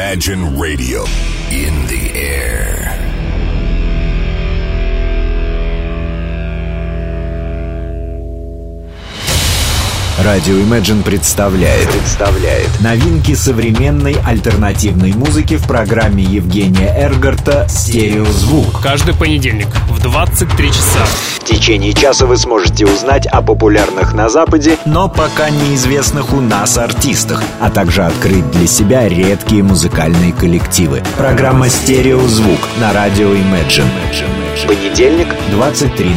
Imagine Radio in the air. Радио Imagine представляет новинки современной альтернативной музыки в программе Евгения Эргарта «Стереозвук». Каждый понедельник в 23 часа. В течение часа вы сможете узнать о популярных на Западе, но пока неизвестных у нас артистах, а также открыть для себя редкие музыкальные коллективы. Программа «Стереозвук» на радио Imagine. Понедельник, 23:00.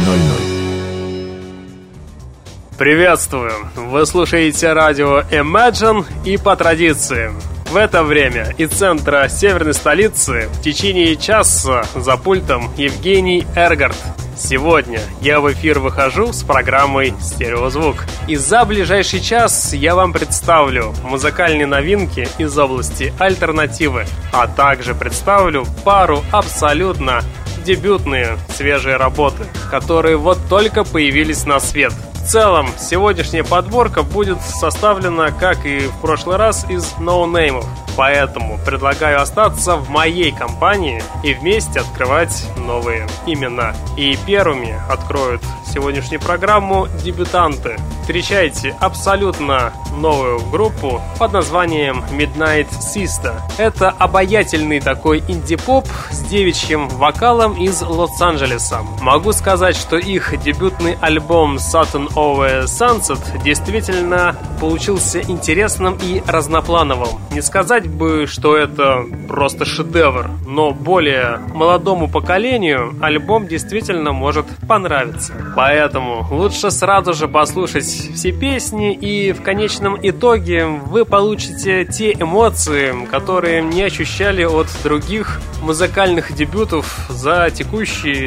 Приветствую! Вы слушаете радио Imagine, и по традиции в это время из центра северной столицы в течение часа за пультом Евгений Эргарт. Сегодня я в эфир выхожу с программой «Стереозвук». И за ближайший час я вам представлю музыкальные новинки из области альтернативы, а также представлю пару абсолютно дебютные свежие работы, которые вот только появились на свет. В целом, сегодняшняя подборка будет составлена, как и в прошлый раз, из ноунеймов. Поэтому предлагаю остаться в моей компании и вместе открывать новые имена. И первыми откроют сегодняшнюю программу дебютанты. Встречайте абсолютно новую группу под названием Midnight Sister. Это обаятельный такой инди-поп с девичьим вокалом из Лос-Анджелеса. Могу сказать, что их дебютный альбом Saturn Over Sunset действительно получился интересным и разноплановым. Не сказать бы, что это просто шедевр, но более молодому поколению альбом действительно может понравиться. Поэтому лучше сразу же послушать все песни, и в конечном итоге вы получите те эмоции, которые не ощущали от других музыкальных дебютов за текущий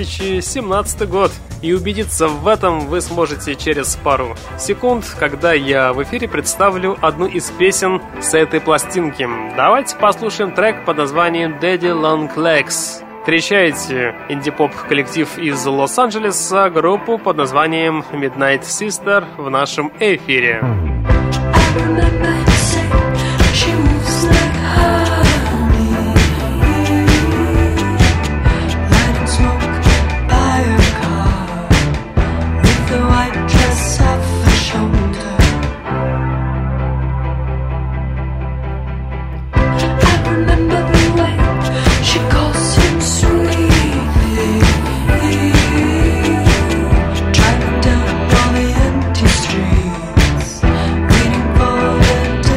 2017 год. И убедиться в этом вы сможете через пару секунд, когда я в эфире представлю одну из песен с этой пластинки. Давайте послушаем трек под названием Daddy Long Legs. Встречайте инди-поп коллектив из Лос-Анджелеса, группу под названием Midnight Sister в нашем эфире. Driving down all the empty streets, waiting for the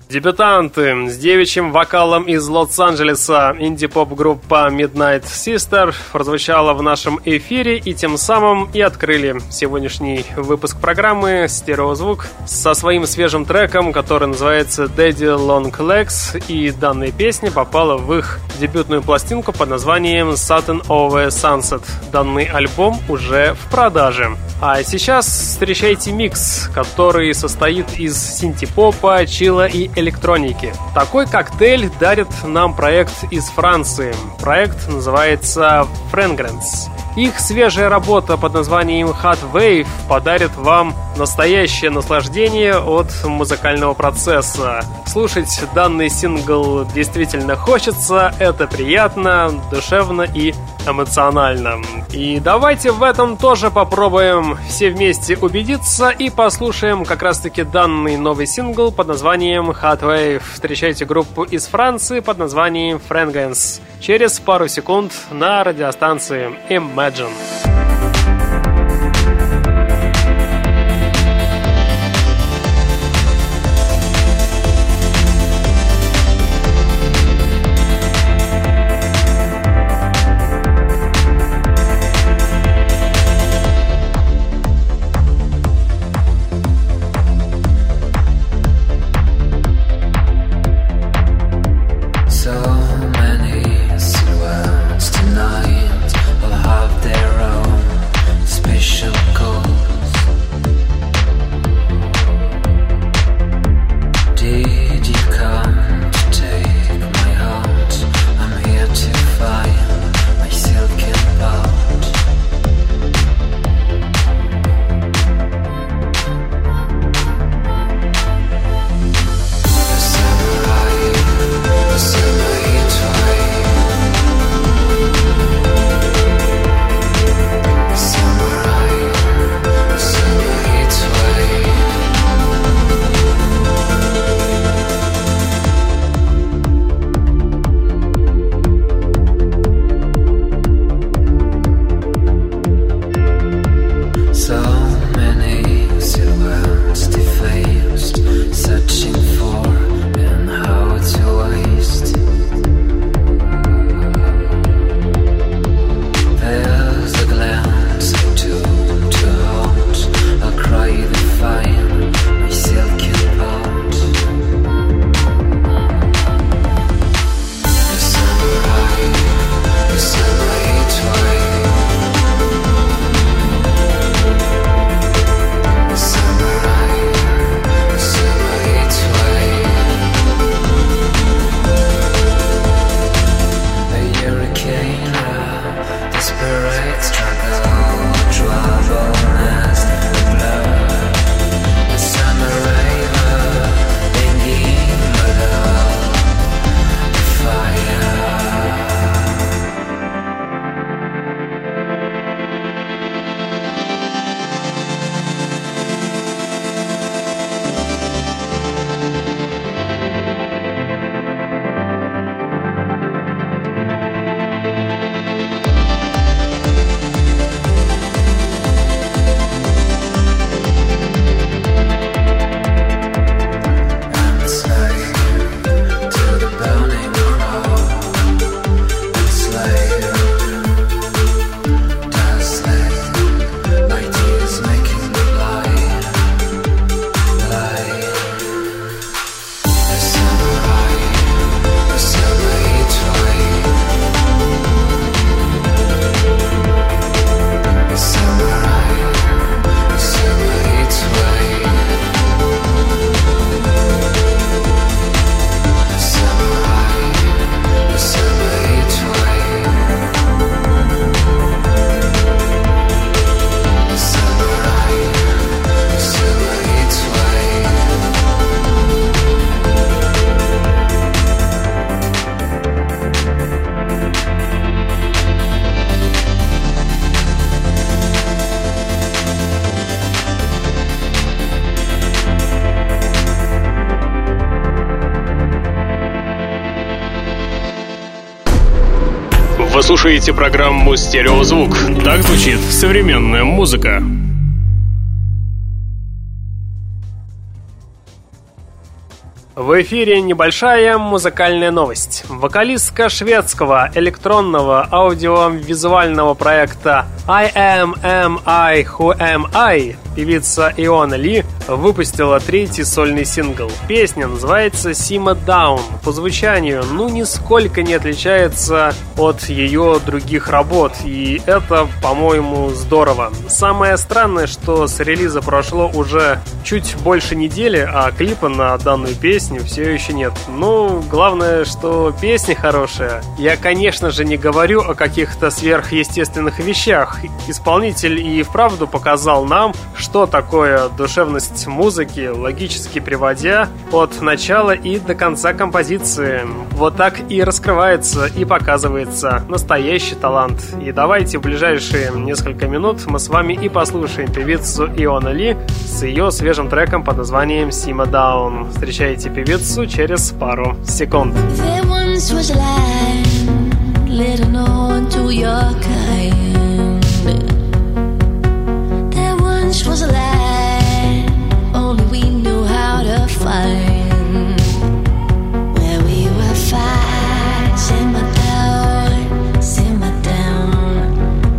Дебютанты с девичьим вокалом из Лос-Анджелеса. Инди-поп-группа Midnight Sister прозвучала в нашем эфире и тем самым и открыли сегодняшний выпуск программы «Стереозвук» со своим свежим треком, который называется Daddy Long Legs, и данная песня попала в их дебютную пластинку под названием Satin Over Sunset. Данный альбом уже в продаже. А сейчас встречайте микс, который состоит из синти-попа, чилла и электроники. Такой коктейль дарит нам проект из Франции. Проект называется Fragrance. Их свежая работа под названием Hot Wave подарит вам настоящее наслаждение от музыкального процесса. Слушать данный сингл действительно хочется, это приятно, душевно и эмоционально. И давайте в этом тоже попробуем все вместе убедиться и послушаем как раз-таки данный новый сингл под названием Hot Wave. Встречайте группу из Франции под названием Fragrance через пару секунд на радиостанции Imagine. Вы слушаете программу «Стереозвук». Так звучит современная музыка. В эфире небольшая музыкальная новость. Вокалистка шведского электронного аудиовизуального проекта I Am I Who Am I, певица Иона Ли, выпустила третий сольный сингл. Песня называется Simmer Down. По звучанию, нисколько не отличается от ее других работ, и это, по-моему, здорово. Самое странное, что с релиза прошло уже чуть больше недели, а клипа на данную песню все еще нет. Главное, что песня хорошая. Я, конечно же, не говорю о каких-то сверхъестественных вещах. Исполнитель и вправду показал нам, что такое душевность музыки, логически приводя от начала и до конца композиции. Вот так и раскрывается и показывается настоящий талант. И давайте в ближайшие несколько минут мы с вами и послушаем певицу Иона Ли с ее свежим треком под названием Simmer Down. Встречайте певицу через пару секунд. Was a land only we knew how to find, where we were fine. Simmer down, simmer down.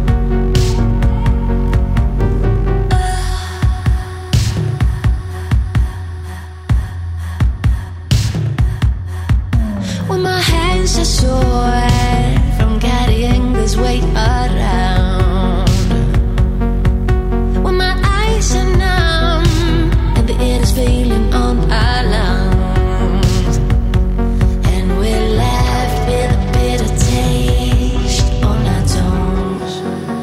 When my hands are sore from carrying this weight around, it is feeling on our lungs, and we're left with a bitter taste on our tongues.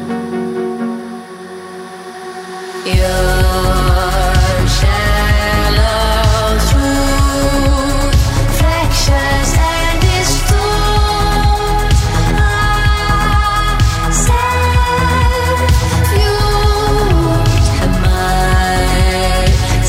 Your shallow truth, fractures and distorts our self-view. Am I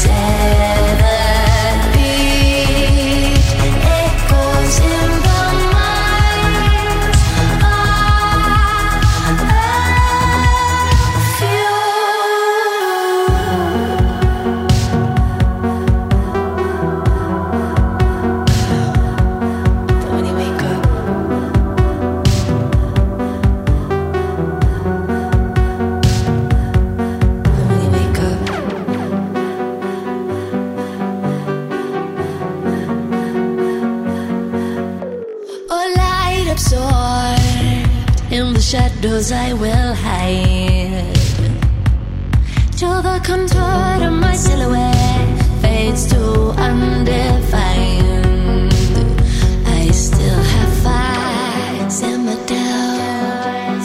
shadows I will hide, till the contour of my silhouette fades to undefined. I still have fight. Simmer down,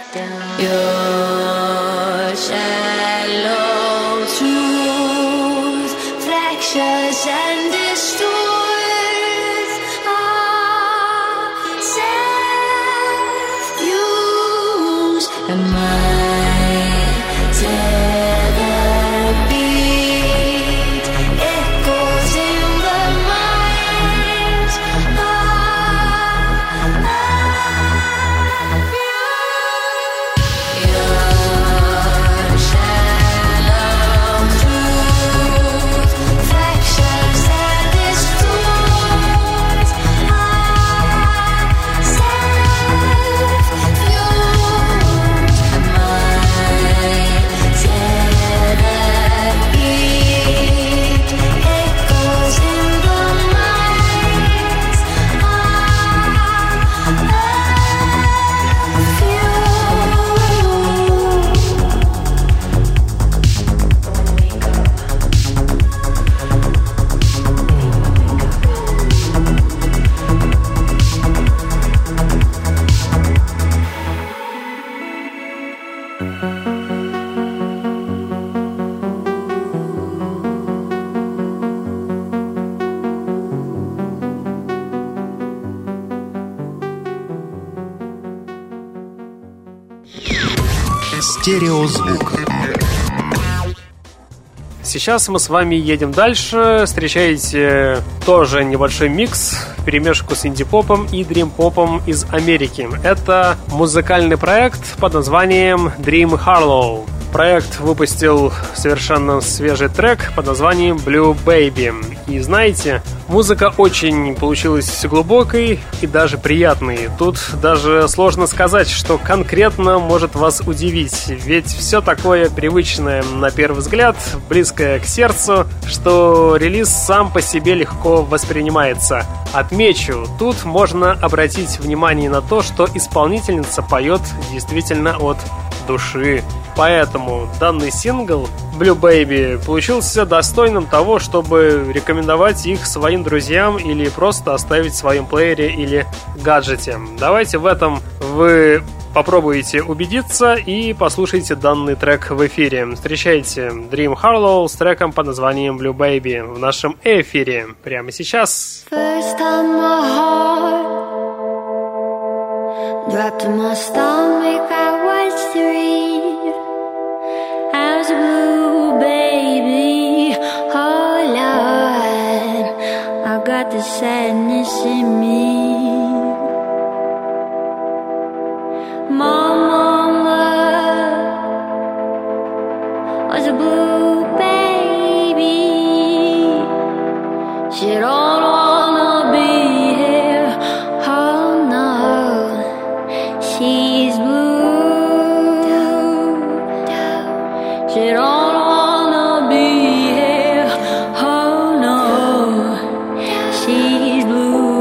your shallow truth, fractures and distorts am I tethered beat, echoes in the minds of your shallow truth, fractures and distorts Стереозвук. Сейчас мы с вами едем дальше. Встречаете тоже небольшой микс, вперемешку с инди-попом и дрим-попом из Америки. Это музыкальный проект под названием Dream Harlow. проект выпустил совершенно свежий трек под названием Blue Baby. И знаете, музыка очень получилась глубокой и даже приятной. Тут даже сложно сказать, что конкретно может вас удивить. Ведь все такое привычное на первый взгляд, близкое к сердцу, что релиз сам по себе легко воспринимается. Отмечу, тут можно обратить внимание на то, что исполнительница поет действительно от души. Поэтому данный сингл Blue Baby получился достойным того, чтобы рекомендовать их своим друзьям или просто оставить в своем плеере или гаджете. Давайте в этом вы попробуйте убедиться и послушайте данный трек в эфире. Встречайте Dream Harlow с треком под названием Blue Baby в нашем эфире прямо сейчас. First time my heart dropped to my stomach, I was 3. I was a blue baby, oh Lord, I got the sadness in me. My mama was a blue baby. She don't wanna be here, oh no, she's blue. She don't wanna be here, oh no, she's blue.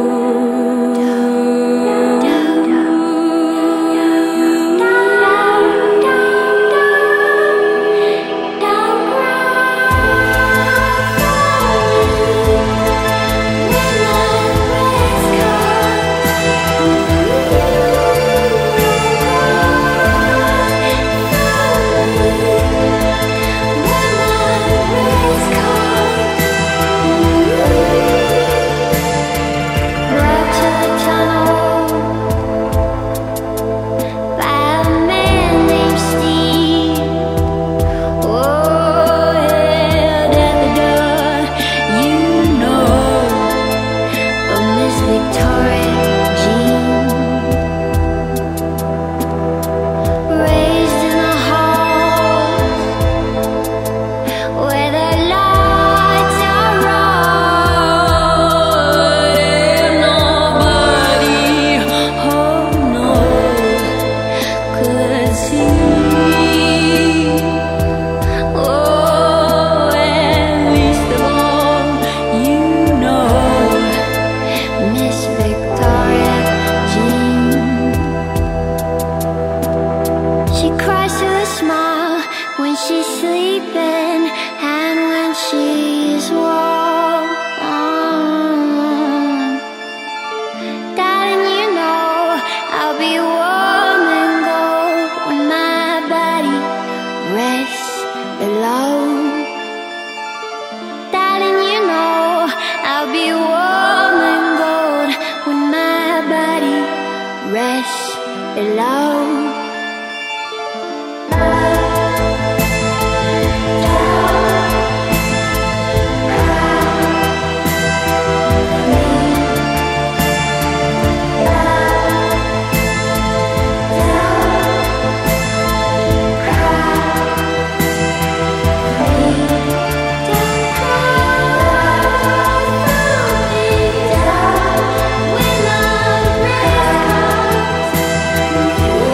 When I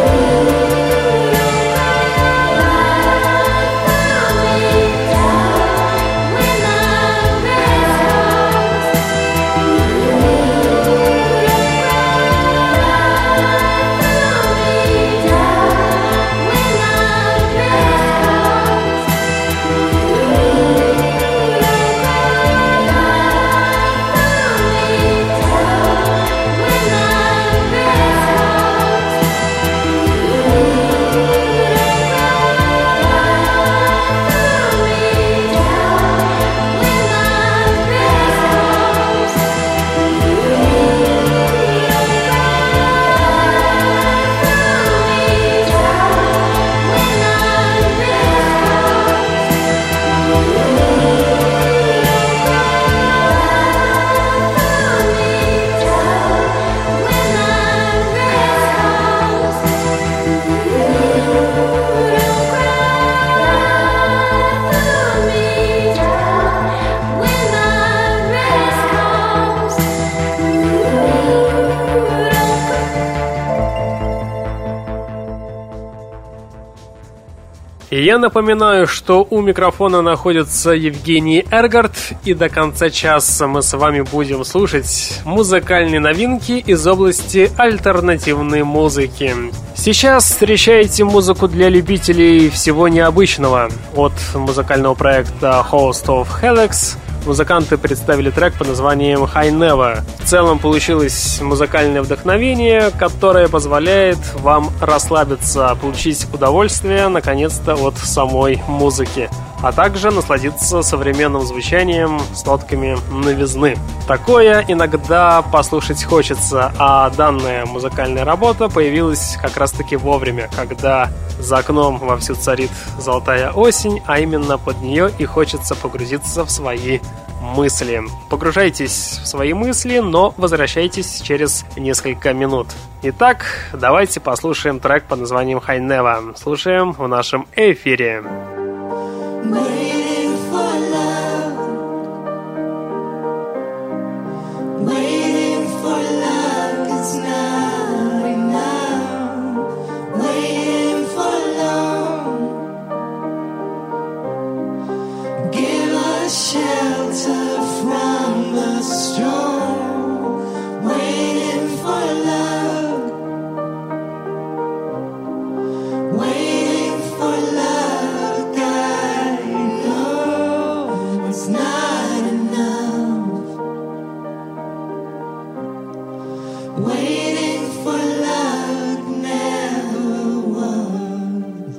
Я напоминаю, что у микрофона находится Евгений Эргард, и до конца часа мы с вами будем слушать музыкальные новинки из области альтернативной музыки. Сейчас встречаете музыку для любителей всего необычного. От музыкального проекта Host of Helix музыканты представили трек под названием High Never. В целом получилось музыкальное вдохновение, которое позволяет вам расслабиться, получить удовольствие, наконец-то, от самой музыки, а также насладиться современным звучанием с нотками новизны. Такое иногда послушать хочется, а данная музыкальная работа появилась как раз-таки вовремя, когда за окном вовсю царит золотая осень, а именно под нее и хочется погрузиться в свои мысли. Погружайтесь в свои мысли, но возвращайтесь через несколько минут. Итак, давайте послушаем трек под названием High Never. Слушаем в нашем эфире. Waiting for love, waiting for love, it's not enough. Waiting for long, give us shelter from the storm. Waiting for love, waiting for love. It's not enough. Waiting for love never was.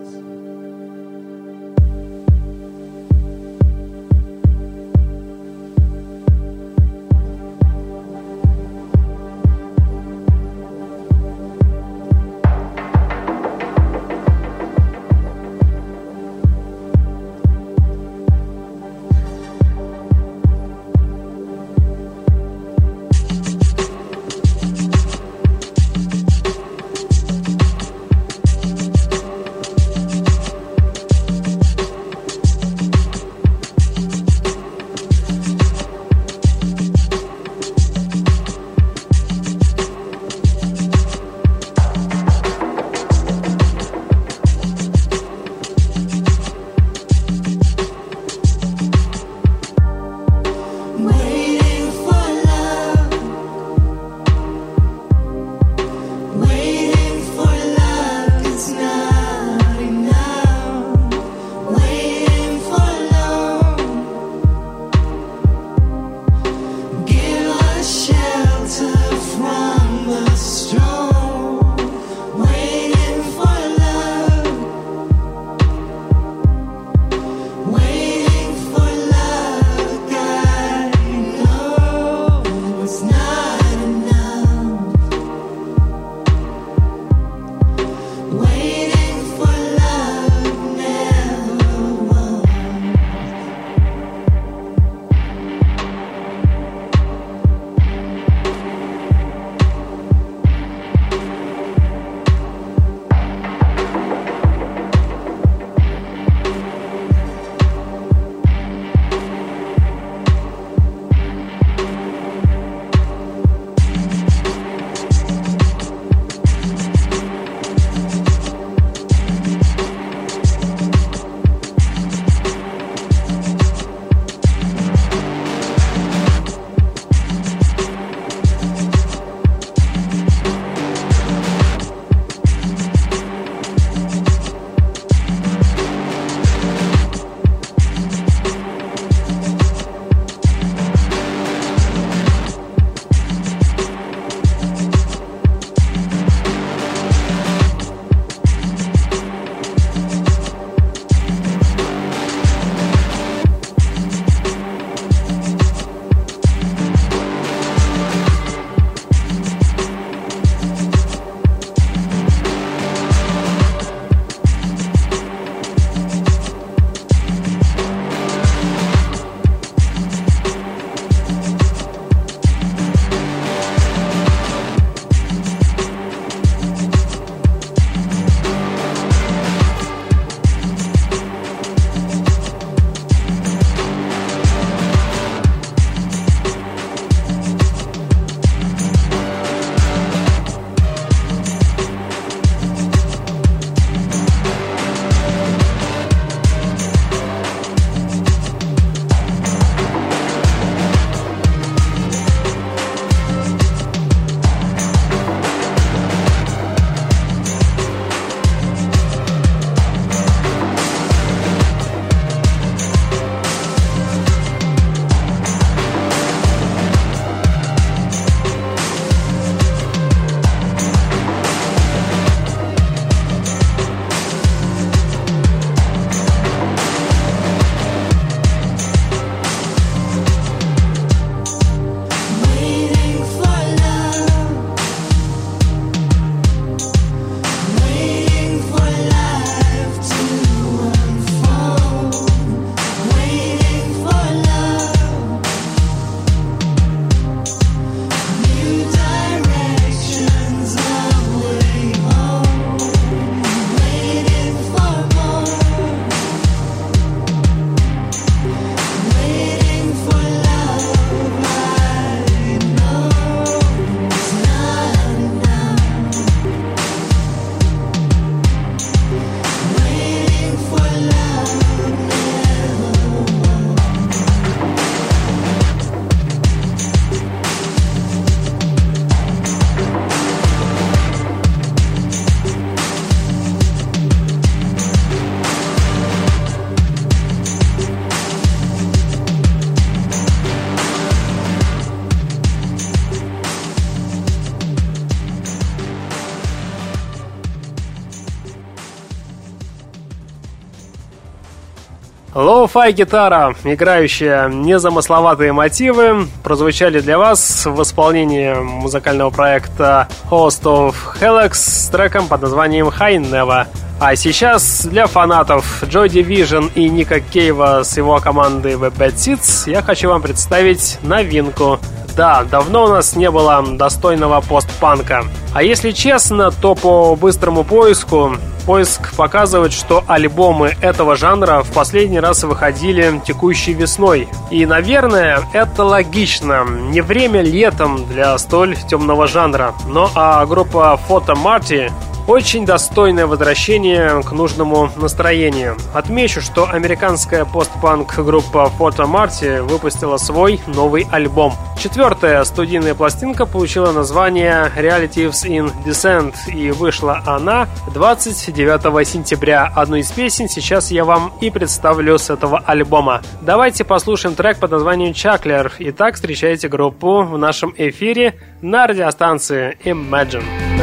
Лоу-фай гитара, играющая незамысловатые мотивы, прозвучали для вас в исполнении музыкального проекта Host of Helix с треком под названием High Never. А сейчас для фанатов Joy Division и Ника Кейва с его командой The Bad Seeds я хочу вам представить новинку. Да, давно у нас не было достойного постпанка. А если честно, то по быстрому поиск показывает, что альбомы этого жанра в последний раз выходили текущей весной. И, наверное, это логично. Не время летом для столь темного жанра. Но группа Photo Marty очень достойное возвращение к нужному настроению. Отмечу, что американская постпанк-группа Photo Marty выпустила свой новый альбом. 4-я студийная пластинка получила название Relatives in Descent, и вышла она 29 сентября. Одну из песен сейчас я вам и представлю с этого альбома. Давайте послушаем трек под названием Chuckler. Итак, встречайте группу в нашем эфире на радиостанции Imagine.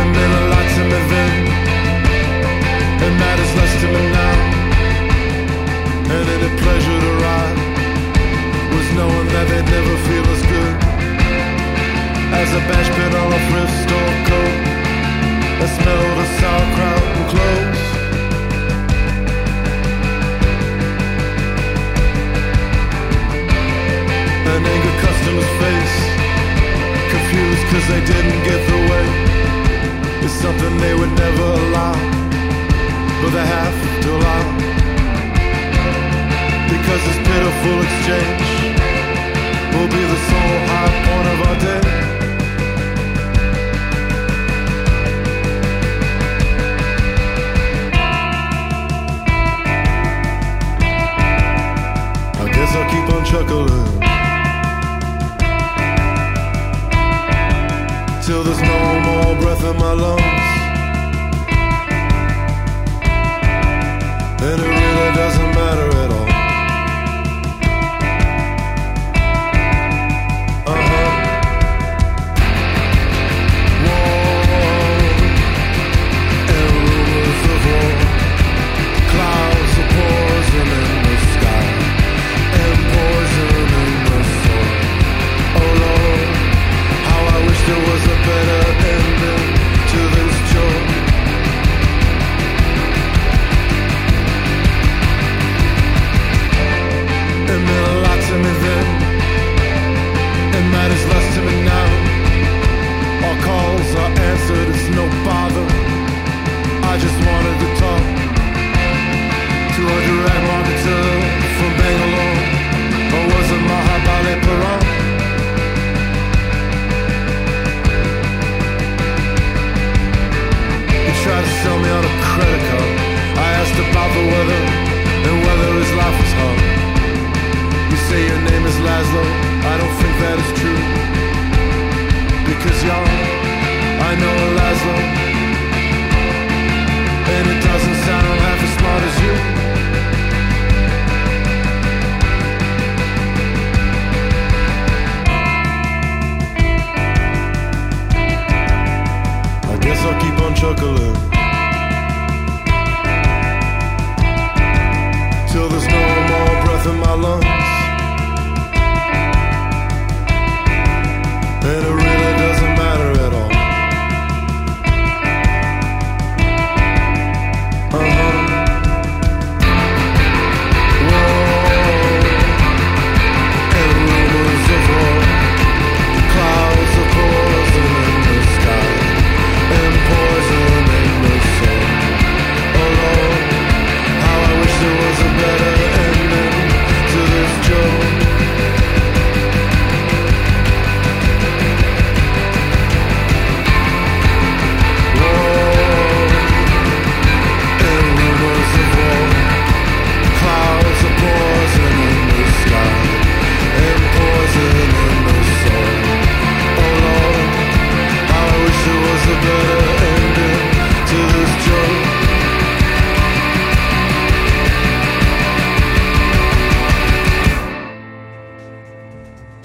And matters less to me now. And any pleasure to ride was knowing that they'd never feel as good as a bash pit on a thrift store coat, a smell of sauerkraut and cloves. An angry customer's face, confused cause they didn't get the way. It's something they would never allow, but they have to allow, because this pitiful exchange will be the sole high point of our day. I guess I'll keep on chuckling till there's no more breath in my lungs. And it really doesn't matter at all. War and rumors of war, clouds of poison in the sky and poison in the soil. Oh Lord, how I wish there was a better ending to this joy. It meant a lot to me then. It matters less to me now. All calls are answered, it's no bother. I just wanted to talk to a direct marketer from Bangalore. Or was it Mahabalipuram? He tried to sell me on a credit card. I asked about the weather and whether his life was hard. You say your name is Laszlo, I don't think that is true, because y'all, I know a Laszlo, and it doesn't sound half as smart as you. I guess I'll keep on chuckling till there's no more breath in my lungs.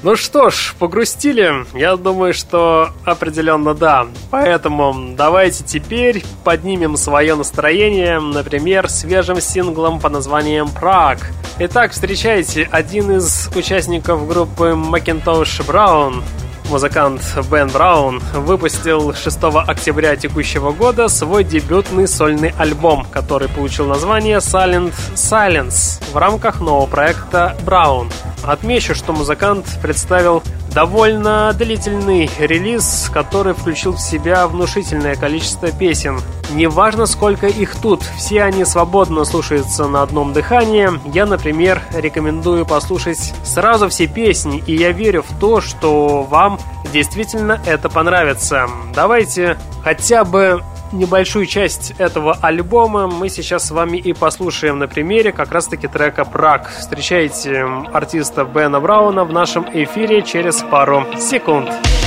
Ну что ж, погрустили? Я думаю, что определенно да. Поэтому давайте теперь поднимем свое настроение, например, свежим синглом под названием «Prague». Итак, встречайте, один из участников группы Macintosh Brown, музыкант Бен Браун, выпустил 6 октября текущего года свой дебютный сольный альбом, который получил название Silent Silence в рамках нового проекта Brown. Отмечу, что музыкант представил довольно длительный релиз, который включил в себя внушительное количество песен. Неважно, сколько их тут, все они свободно слушаются на одном дыхании. Я, например, рекомендую послушать сразу все песни, и я верю в то, что вам действительно это понравится. Давайте хотя бы небольшую часть этого альбома мы сейчас с вами и послушаем на примере как раз-таки трека «Prague». Встречайте артиста Бена Брауна в нашем эфире через пару секунд.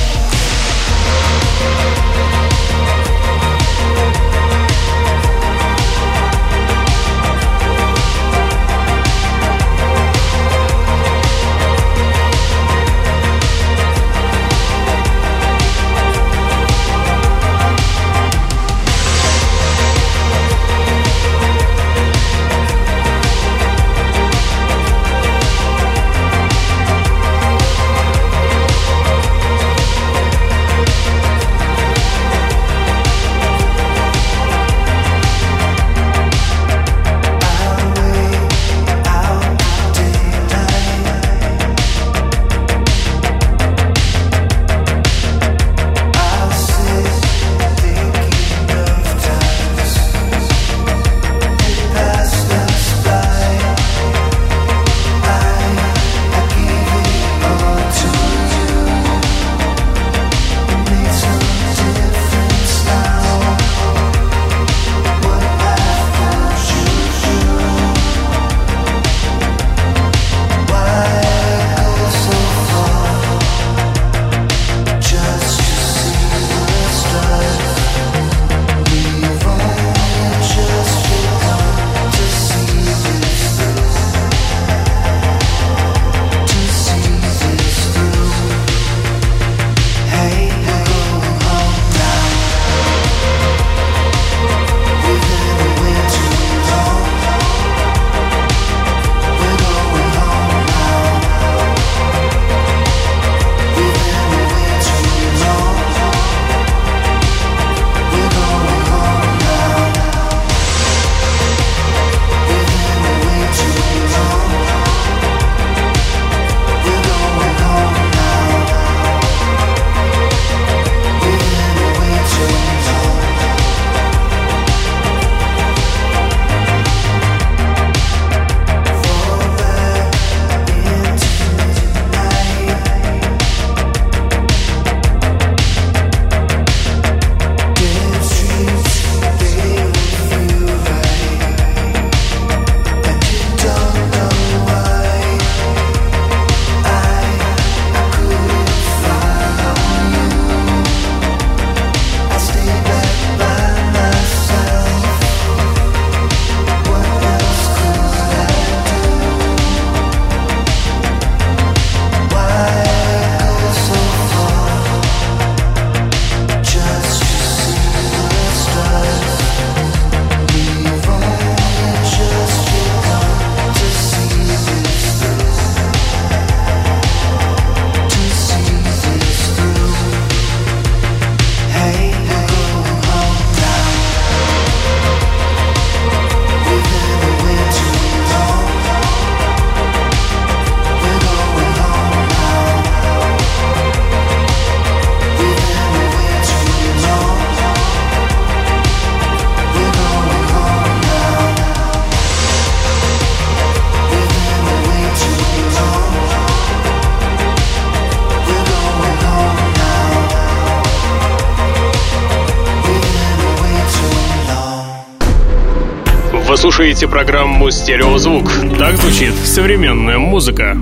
Вы слушаете программу «Стереозвук». Так звучит современная музыка.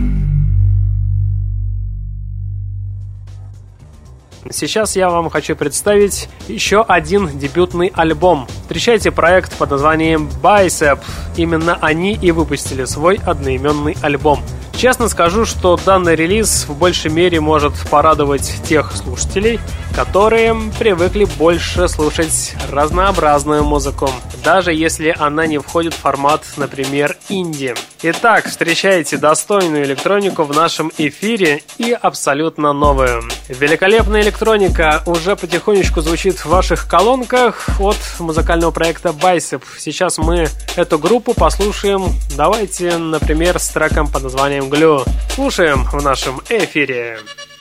Сейчас я вам хочу представить еще один дебютный альбом. Встречайте проект под названием Bicep. Именно они и выпустили свой одноименный альбом. Честно скажу, что данный релиз в большей мере может порадовать тех слушателей, которые привыкли больше слушать разнообразную музыку, даже если она не входит в формат, например, инди. Итак, встречайте достойную электронику в нашем эфире и абсолютно новую. Великолепная электроника уже потихонечку звучит в ваших колонках от музыкального проекта Bicep. Сейчас мы эту группу послушаем, давайте, например, с треком под названием Glue. Слушаем в нашем эфире.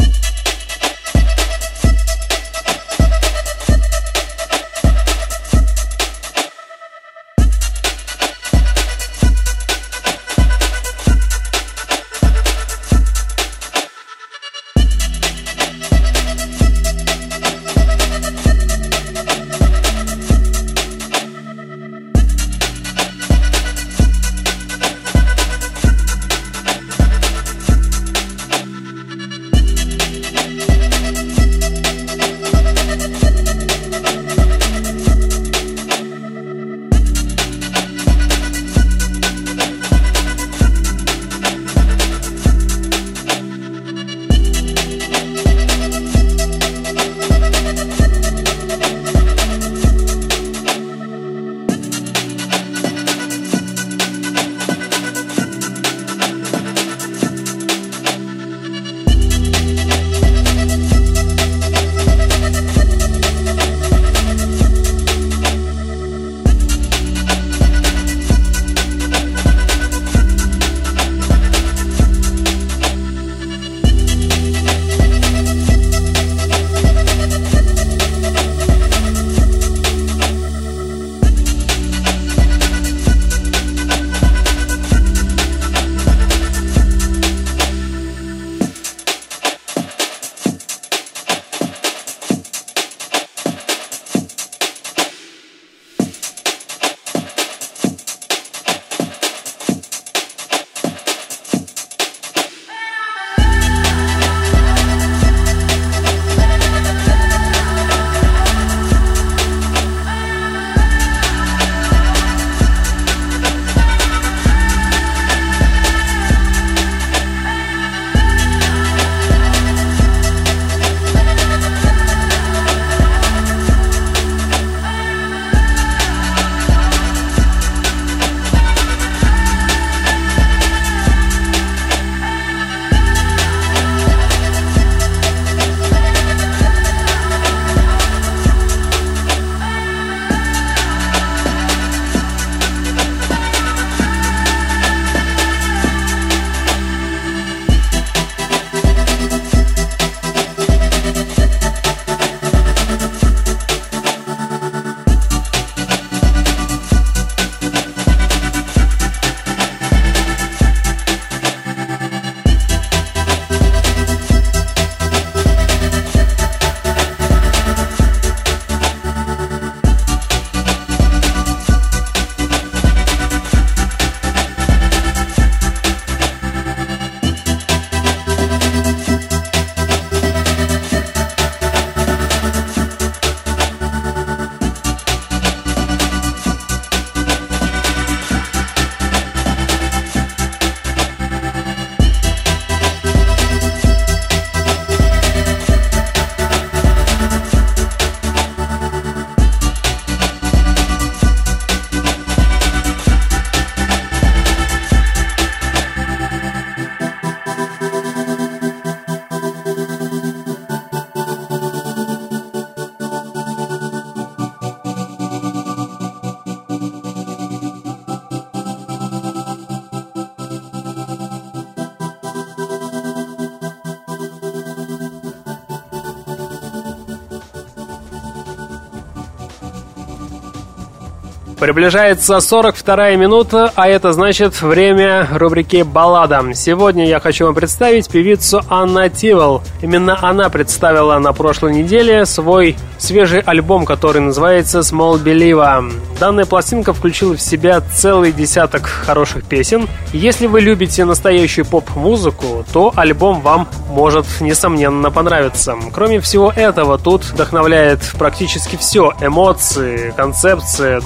Приближается 42-я минута, а это значит время рубрики «Баллада». Сегодня я хочу вам представить певицу Анна Тивол. Именно она представила на прошлой неделе свой свежий альбом, который называется «Small Believer». Данная пластинка включила в себя целый десяток хороших песен. Если вы любите настоящую поп-музыку, то альбом вам может, несомненно, понравиться. Кроме всего этого, тут вдохновляет практически все: эмоции, концепция, душевная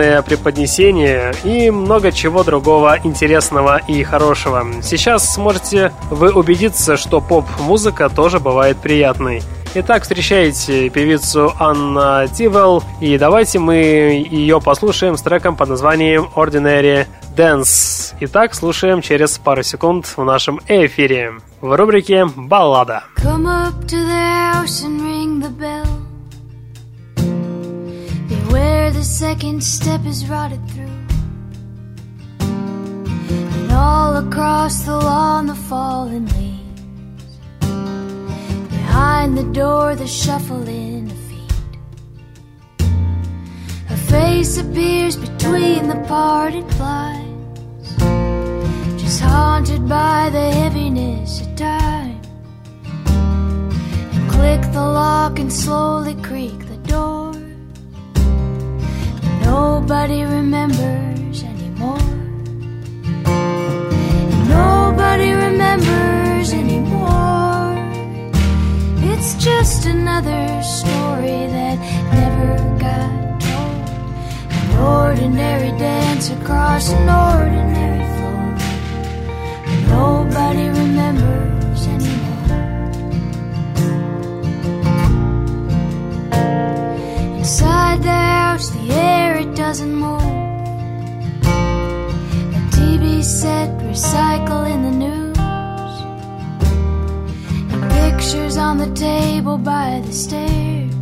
музыкальное преподнесение и много чего другого интересного и хорошего. Сейчас сможете вы убедиться, что поп-музыка тоже бывает приятной. Итак, встречайте певицу Анна Тивел, и давайте мы ее послушаем с треком под названием Ordinary Dance. Итак, слушаем через пару секунд в нашем эфире в рубрике «Баллада». Come up to the house and ring the bell. Beware the second step is rotted through. And all across the lawn the fallen leaves. Behind the door the shuffling of feet. A face appears between the parted blinds, just haunted by the heaviness of time. And click the lock and slowly creak the door. Nobody remembers anymore. Nobody remembers anymore. It's just another story that never got told. An ordinary dance across an ordinary floor. Nobody remembers anymore. Inside the house, the air, it doesn't move. The TV set recycling the news. Pictures on the table by the stairs,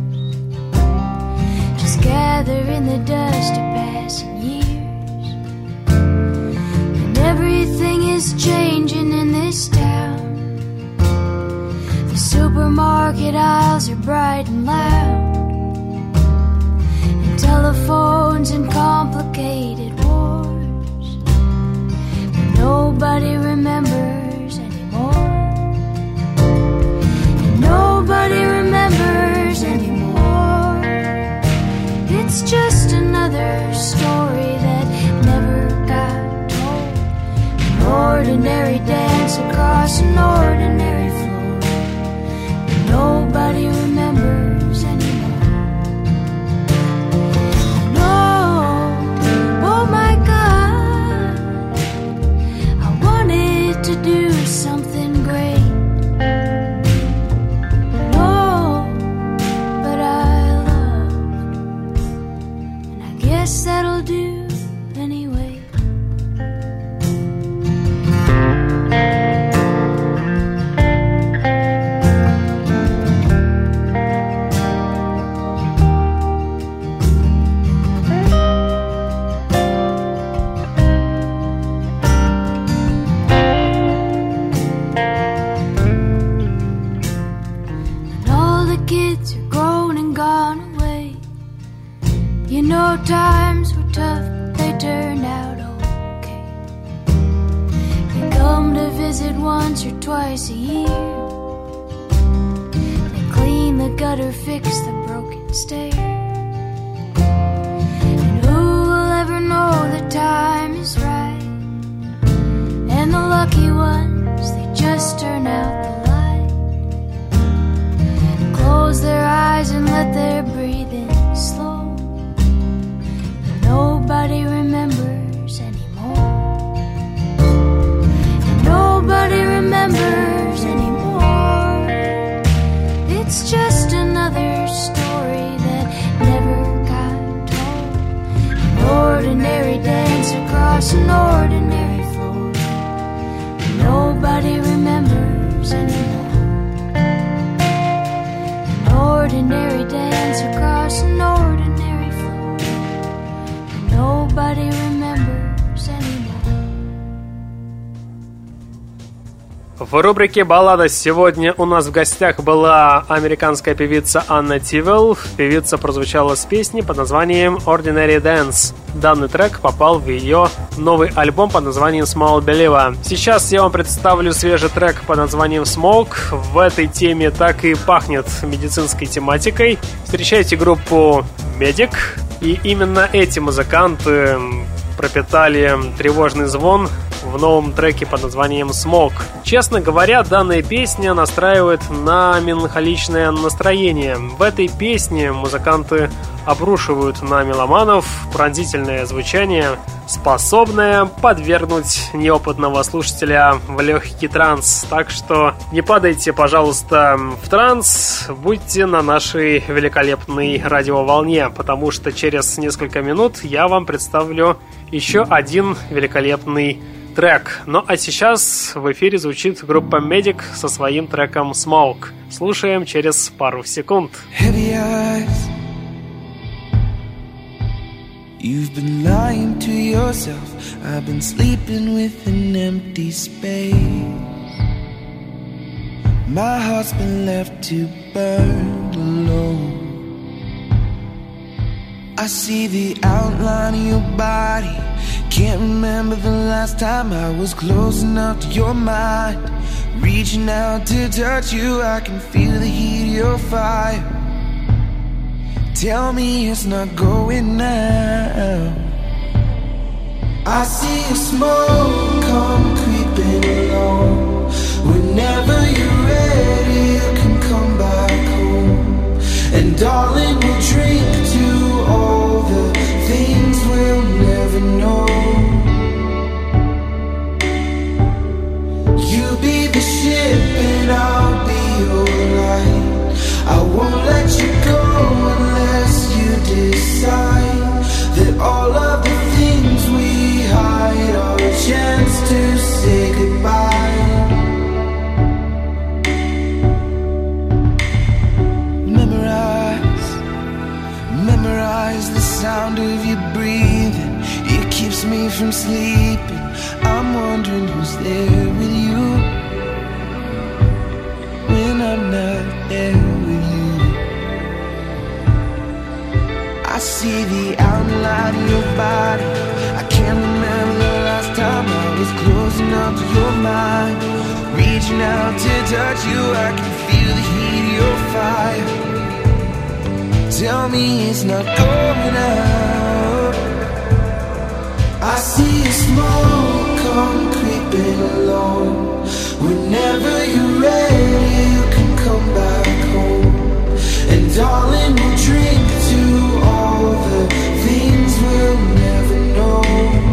just gather in the dust of passing years. And everything is changing in this town. The supermarket aisles are bright and loud, and telephones and complicated wars. But nobody remembers anymore. Nobody remembers anymore. It's just another story that never got told. An ordinary dance across an ordinary floor. Nobody remembers anymore. No, oh my God, I wanted to do something great. Guess that'll do anyway. And all the kids are grown and gone away. You know times were tough, but they turned out okay. They come to visit once or twice a year. They clean the gutter, fix the broken stair. And who will ever know the time is right? And the lucky ones, they just turn out the light. Close their eyes and let their breathing slow. Nobody remembers anymore. And nobody remembers anymore. It's just another story that never got told. An ordinary dance across an ordinary floor. Nobody remembers anymore. An ordinary dance across an ordinary floor. Nobody remembers anymore. В рубрике «Баллада» сегодня у нас в гостях была американская певица Анна Тивел. Певица прозвучала с песней под названием Ordinary Dance. Данный трек попал в ее новый альбом под названием Small Believer. Сейчас я вам представлю свежий трек под названием Smoke. В этой теме так и пахнет медицинской тематикой. Встречайте группу Medic. И именно эти музыканты пропитали тревожный звон в новом треке под названием «Smoke». Честно говоря, данная песня настраивает на меланхоличное настроение. В этой песне музыканты обрушивают на меломанов пронзительное звучание, способное подвергнуть неопытного слушателя в легкий транс. Так что не падайте, пожалуйста, в транс, будьте на нашей великолепной радиоволне, потому что через несколько минут я вам представлю еще один великолепный трек. Ну а сейчас в эфире звучит группа Medic со своим треком «Smoke». Слушаем через пару секунд. You've been lying to yourself. I've been sleeping with an empty space. My heart's been left to burn alone. I see the outline of your body. Can't remember the last time I was close enough to your mind. Reaching out to touch you, I can feel the heat of your fire. Tell me it's not going now. I see a smoke come creeping along. Whenever you're ready, you can come back home. And darling, we'll drink to all the things we'll never know. You be the ship and I'll be your light. I won't let you go unless you decide that all of the things we hide are a chance to say goodbye. Memorize the sound of you breathing. It keeps me from sleeping. I'm wondering who's there with you when I'm not there with you. I see the outline of your body. I can't remember the last time I was close enough to your mind. Reaching out to touch you, I can feel the heat of your fire. Tell me it's not going out. I see a smoke come creeping along. Whenever you're ready, you can come back home. And darling, we'll drink to all the things we'll never know.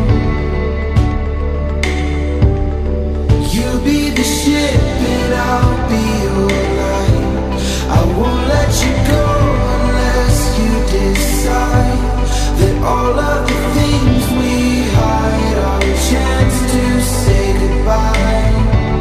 You be the ship and I'll be your light. I won't let you go unless you decide that all of the things we hide are a chance to say goodbye.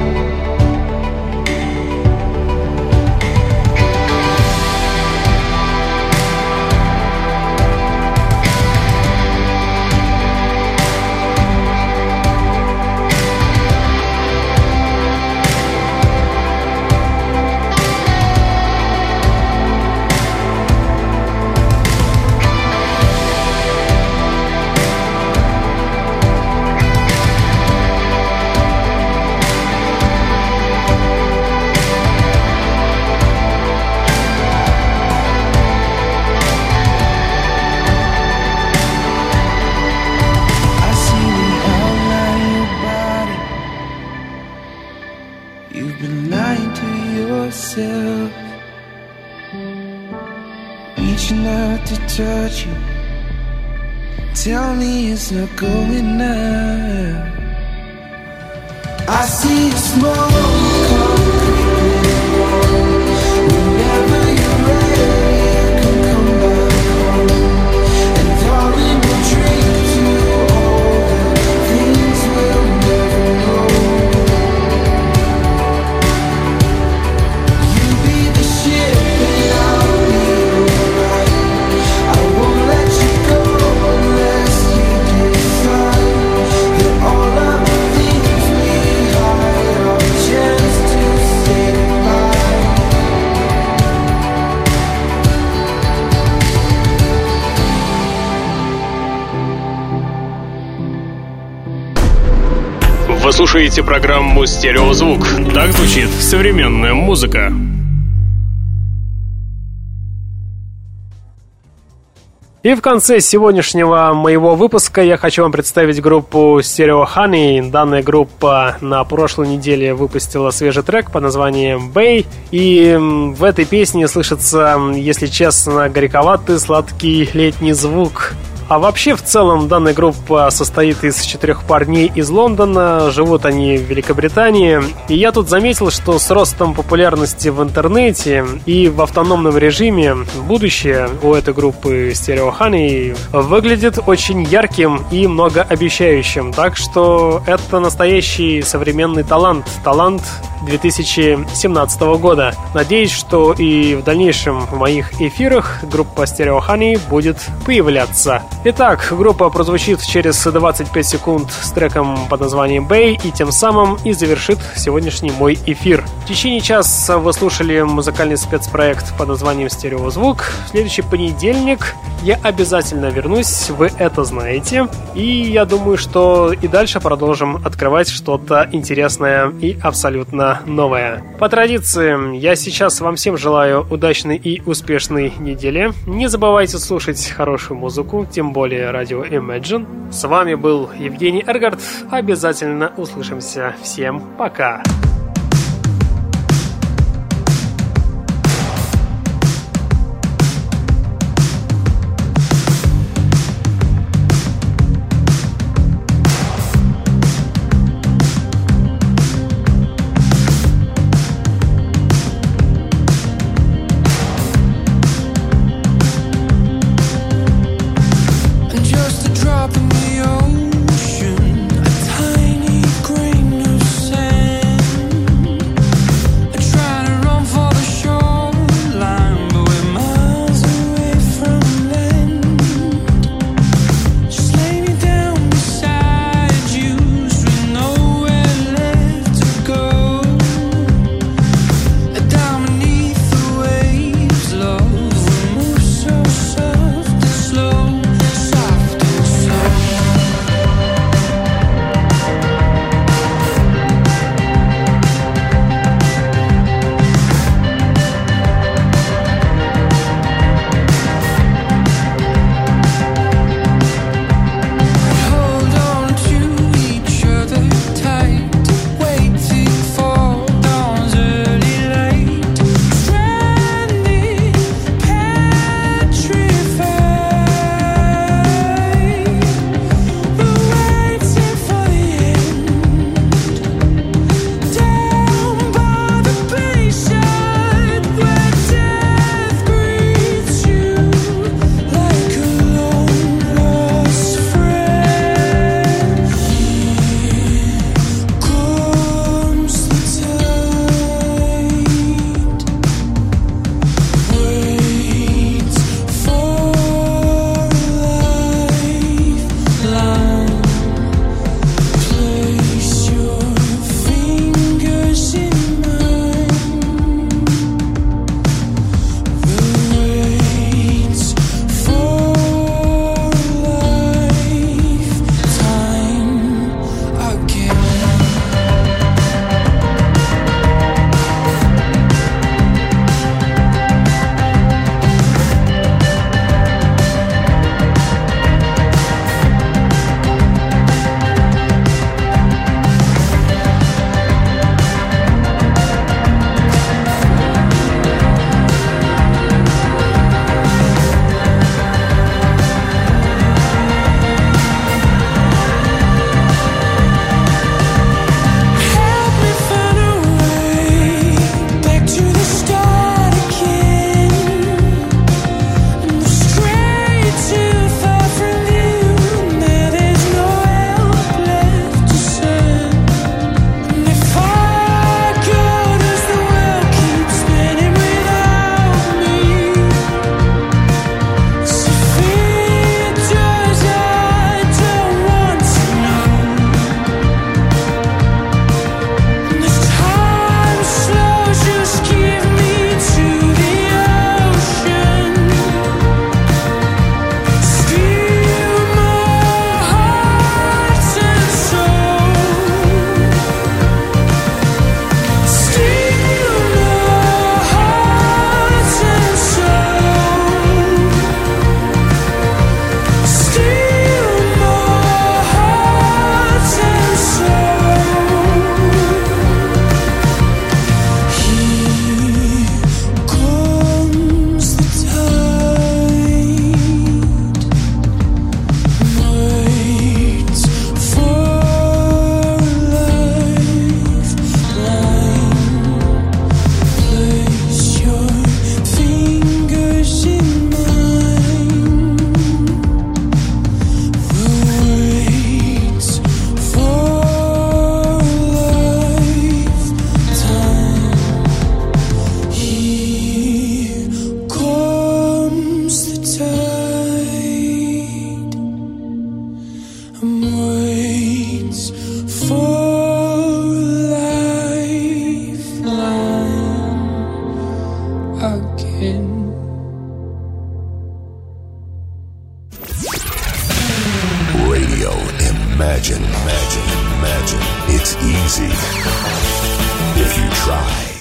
Touch you. Tell me it's not going now. I see smoke come creeping along. Whenever you're ready, you can come back home. And darling, we'll drink to all the things we'll never know. You be the ship and I'll be your light. I won't let you go unless you decide that all of the things we hide are a chance to say goodbye. Вы слушаете программу «Стереозвук». Так звучит современная музыка. И в конце сегодняшнего моего выпуска я хочу вам представить группу Stereo Honey. Данная группа на прошлой неделе выпустила свежий трек под названием Bay. И в этой песне слышится, если честно, горьковатый сладкий летний звук. А вообще, в целом, данная группа состоит из 4 парней из Лондона, живут они в Великобритании. И я тут заметил, что с ростом популярности в интернете и в автономном режиме будущее у этой группы Stereo Honey выглядит очень ярким и многообещающим. Так что это настоящий современный талант 2017 года. Надеюсь, что и в дальнейшем в моих эфирах группа Stereo Honey будет появляться. Итак, группа прозвучит через 25 секунд с треком под названием Bay и тем самым и завершит сегодняшний мой эфир. В течение часа вы слушали музыкальный спецпроект под названием «Стереозвук». В следующий понедельник я обязательно вернусь, вы это знаете. И я думаю, что и дальше продолжим открывать что-то интересное и абсолютно новое. По традиции, я сейчас вам всем желаю удачной и успешной недели. Не забывайте слушать хорошую музыку, тем более радио Imagine. С вами был Евгений Эргард. Обязательно услышимся. Всем пока! Drop in the ocean, a tiny grain of sand. waits for lifeline again. Radio Imagine. It's easy if you try.